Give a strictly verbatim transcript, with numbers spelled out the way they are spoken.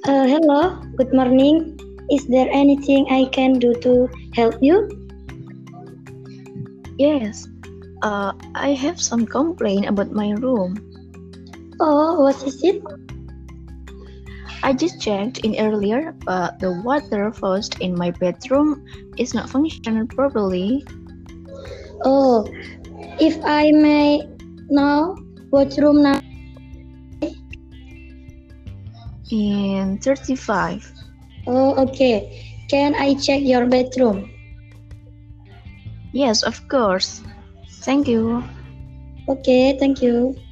Uh, hello, good morning. Is there anything I can do to help you? Yes, uh, I have some complaint about my room. Oh, what is it? I just checked in earlier, but the water faucet in my bedroom is not functioning properly. Oh, if I may know, what room now? In thirty-five. Oh, okay. Can I check your bedroom? Yes, of course. Thank you. Okay, thank you.